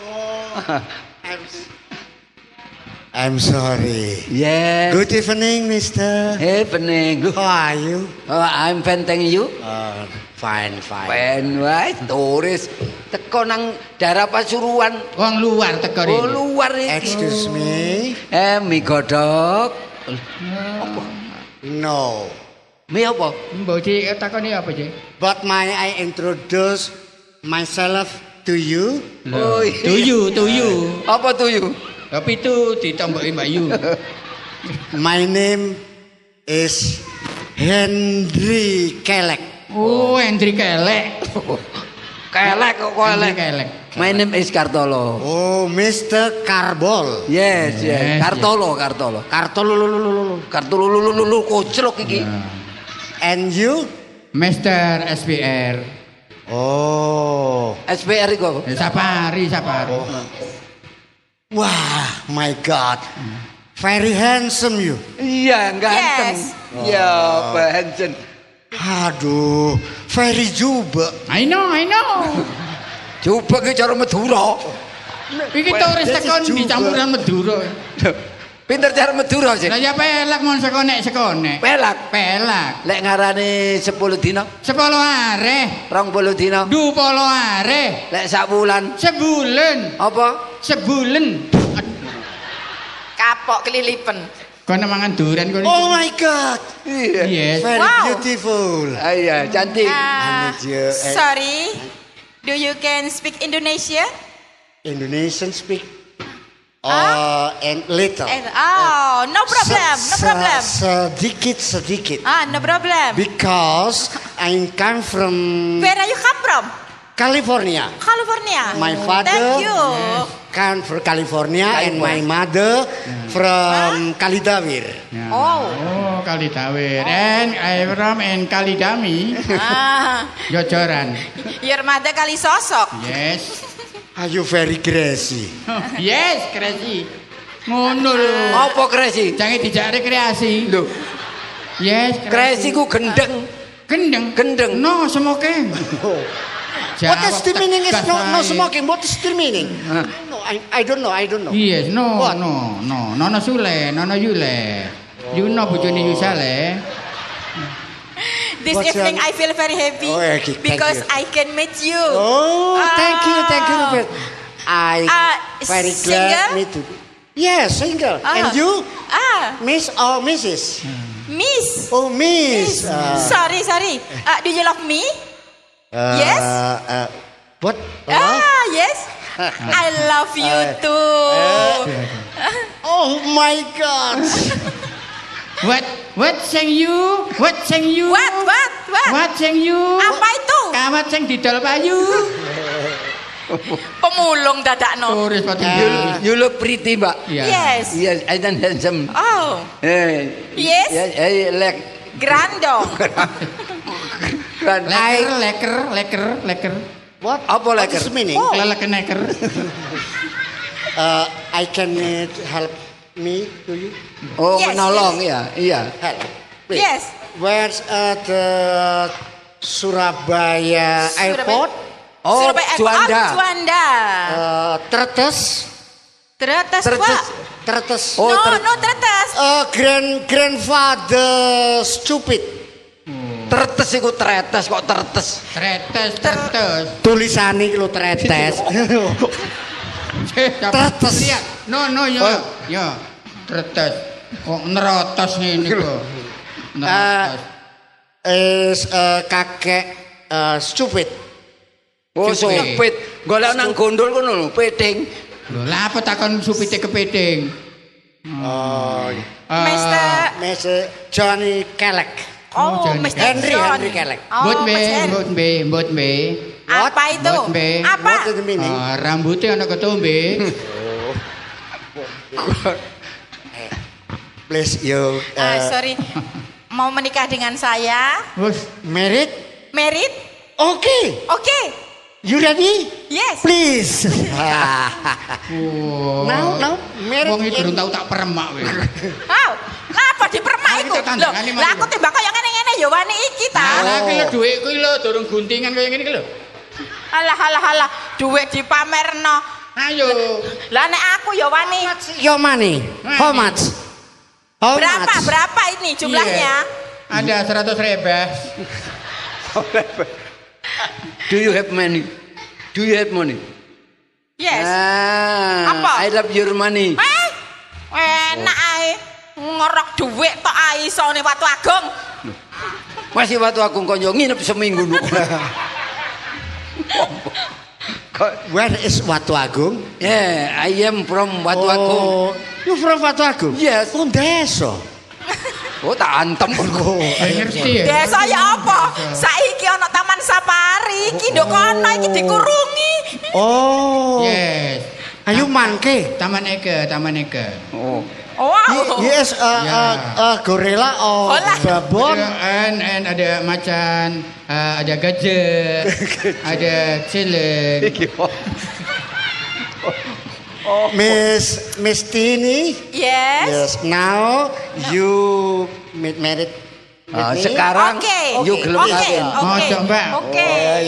I'm sorry. Yes. Good evening, Mister. Hey, pening. Loh, How are you? I'm fine, thank you. Fine. Pen wae turis teko nang daerah Pasuruan. Wong luar teko Oh, rene. luar iki. Excuse me. Mie godhog. No. Mie apa? Mbok Ci takoni apa, Ci? But may I introduce myself to you? Oh, Tuyu. apa tuyu? Tapi itu ditomboki Mbak Yu. My name is Henry Kelek. Oh, Hendri Kelek. Kelek kok Hendri kelek. Kelek. My name is Kartolo. Oh, Mr. Carbol. Yes. Yes, Kartolo. Kartolo koclok iki. And you? Mr. SPR. Oh. SPR iku. Safari. Wah, my God. Very handsome you. Iya, ganteng. Yes. Iya, Pak Hansen. Aduh, very juga. I know. Coba ki cara Madura. Iki turis tekan dicampuran Madura. Pinter cara Madura sih. Lah ya pelak mon sekonek. Pelak. Lek ngarani 10 dina, 10 areh. 20 dina. 20 areh. Lek sak bulan. Sebulan. Apa? Sebulan. Kapok kelilipen. Kono mangan durian kono. Oh my God. Iya. Yes. Very Wow. beautiful. Iya, cantik. Sorry. Do you can speak Indonesia? Indonesian speak. And little. Oh, no problem. Sedikit. No problem. Because I come from Where are you come from? California. California. My father Thank you. come from California and my mother from Kalidawir. Oh. Kalidawir. And I from Kalidami. Jojoran. Your mother kali sosok. Yes. Are you very crazy? Yes, kreasi. Ngono lho. Apa kresi? Jangan dijak rekreasi. Lho, Yes, kresi ku gendeng. Gendeng. No smoking. What is the meaning? Is no smoking. What is the meaning? No, I don't know. Yes, no, What? no. Nono Sule, Nono Yule. You know bojone Yusale. This What's evening your- I feel very happy Oh, okay, thank because you. I can meet you. Oh, thank you, Robert. I very single? glad me to. Yes, single. And you, Miss or Mrs? Miss. Oh, Miss. Sorry. Do you love me? Yes? What? Yes. I love you too. Oh my God. What sing you? What? What sing you? Apa itu? Kawat sing didol payu. Pemulung dadakno. Turis pati. You look pretty, Mbak. Yes. Yes, I don't handsome. Oh. Yes. Like Grandong. Leker. What? Apa What leker? is meaning? Lelek neker. I can help me to you. Oh, Yes, menolong ya. Iya. Help. Please. Yes. Where's the Surabaya Airport? Oh, Surabaya Juanda. Juanda. Tretes. Tretes, Tretes. Pak. Tretes. Oh, No, tretes. Grandfather stupid. Tertes iku tretes kok tertes. Tretes. Tulisane iki lho tretes. Tretes. Lihat. No, yo. Tretes. Kok nerotos ngene kok. Is kakek stupid. Oh, supit. Golek nang gondol kono lho, peting. Lho, lah apa takon supite kepeding? Mr. Johnny Kelek. Oh, Johnny Mr. Henry John. Kelek. Oh, Mas Henry. Mbot be. Apa itu? Mbot be. Apa? What is the meaning? Rambutnya ana ketombe. Please you Sorry. Mau menikah dengan saya? Wes, married? Married? Okay. Oke. You ready? Yes. Please. oh. Now, married. Wong iki durung tau tak peremak kowe. Lah apa dipermak Mari iku? kita tandangane, Lho, mari. lah aku timbang kaya ngene-ngene ya wani iki ta. Lah iki lho dhuwitku iki lho durung guntingan kaya ngene iki lho. Alah, duit dipamerno. Ayo. Lah nek aku ya wani. Your money. How much? How much? Berapa ini jumlahnya? Ada 100 ribu. Do you have money? Yes. Apa? I love your money. Enak ae. Ngorok duit tok ae isone Watu Agung. Masih Watu Agung kok yo nginep seminggu nu. Where is Watu Agung? Yeah, I am from Watu Agung. You from Watu Agung? Yes. Oh, desa. Oh, tak antem. Ngerti ya? Desa ya apa? Saiki ana taman safari, iki ndok kono iki dikurungi. Oh. Yes. Ayo mangke. Taman Eke. Oh. Wow. Yes, gorilla or babon. And ada macan, ada gajah, ada celeng. Miss Tini. Yes. Now you married. Sekarang you gelem kawin. Ojo, Mbak. Oke.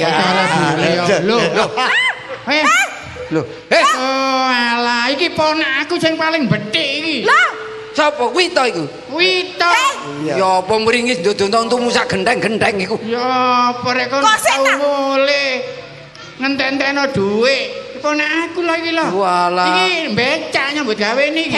Loh, oh alah iki ponakku sing paling bedhik iki. Lah, sapa kuwi to iku? Wito. Ya apa mringis ndodontonmu sak gendeng-gendeng iku. Ya apa rek kon tau mulih ngenten-enteno dhuwit. Ponakku lho iki lho. Walah. Iki becak nyambut gawe niki.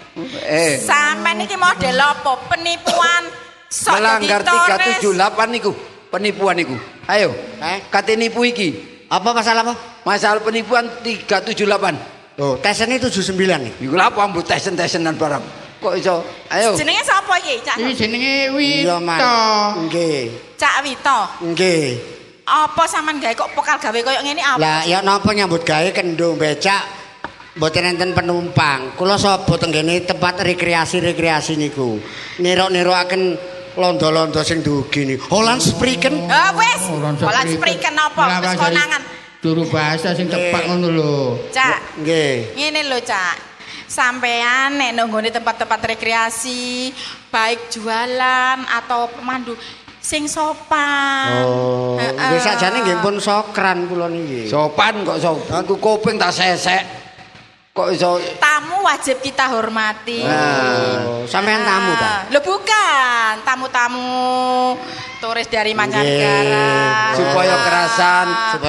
Sampeyan iki model apa? Penipuan. Melanggar 378 niku. Penipuan iku. Ayo, kate nipu iki. Apa masalah apa? Masalah penipuan 378. Oh, tesene 79 nih. Iku lha apa mbok tesen-tesenan barang. Kok iso? Ayo. Jenenge sapa iki, Cak? Iki jenenge Wito. Nggih. Cak Wito. Nggih. Apa sampean gawe kok pokal gawe koyo ngene apa? Lah ya napa nyambut gawe kendung becak mboten enten penumpang. Kula sapa tenggene tempat rekreasi niku. Nirok-nirokaken londo-londo sing dugi niku. Holland Spreken. Wis. Holland Spreken apa? Wis konangan. Turu bahasa sing tepat ngono lho. Cak. Nggih. Ngene lho, Cak. Sampean nek nonggone tempat-tempat rekreasi, baik jualan atau pemandu sing sopan. Oh, nggih sakjane nggih pun sokran kula niki. Sopan kok sopan. Aku kuping tak sesek. Kok iso tamu wajib kita hormati. Oh, sampean tamu ta? Lho bukan, tamu-tamu turis dari mancanegara. Supaya kerasan,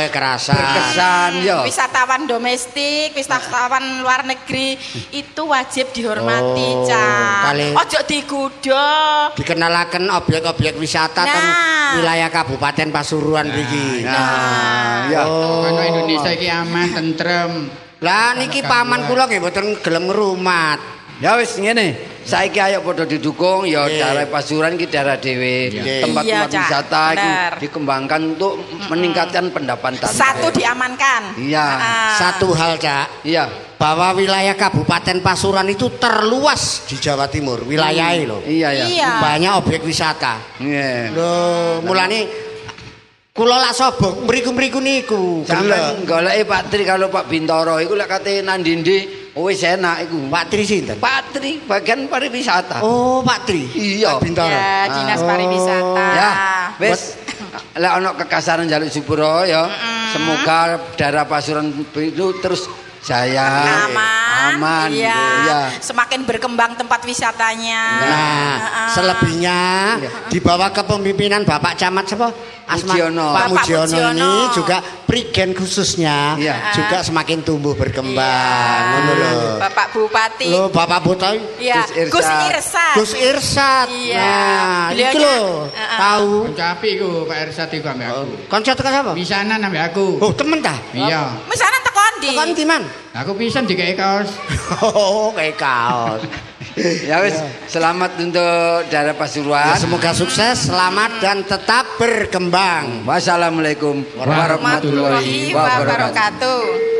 berkesan ya. Wisatawan domestik, wisatawan luar negeri itu wajib dihormati, Cak. Ojo digudo. Dikenalaken objek-objek wisata teng wilayah Kabupaten Pasuruan iki. Ya. Kono Indonesia iki aman, tentrem. Lah niki paman kula nggih mboten gelem ngrumat. Ya wis ngene, saiki ayo padha didukung ya daerah Pasuruan iki daerah dhewe. Tempat-tempat wisata iki dikembangkan untuk meningkatkan pendapatan. Satu diamankan. Iya. Satu hal, Cak. Iya. Bahwa wilayah Kabupaten Pasuruan itu terluas di Jawa Timur, wilayahnya loh. Iya. Banyak objek wisata. Iya. Loh, mulane kula lak sobok mriku-mriku niku. Sampeyan goleki Pak Tri kalau Pak Bintoro iku lek kate nandindi wis enak iku. Pak Tri sinten? Pak Tri bagian pariwisata. Oh, Pak Tri. Iya. Pak Bintoro. Ya, Dinas Pariwisata. Ya, wis lek ana kekasaran njaluk sepuro ya. Semoga daerah Pasuruan itu terus jaya. Aman. Iya. Semakin berkembang tempat wisatanya. Nah, selebihnya di bawah kepemimpinan Bapak Camat siapa? Pak Mujiono ini juga prigen khususnya juga semakin tumbuh berkembang. Bapak Bupati. Loh, Bapak Bupati. Iya. Gus Irsat. Iya. Nah, iki lho. Tahu. Kancapi iku Pak Irsat iku ambek aku. Kanca teko sapa? Pisanan ambek aku. Oh, temen ta? Iya. Misanan tekon ndi? Tekon di man? Aku pisan dikei kaos. Oh, kayak kaos. Ya wis, selamat untuk daerah Pasuruan. Ya, semoga sukses, selamat dan tetap berkembang. Wassalamualaikum warahmatullahi wabarakatuh.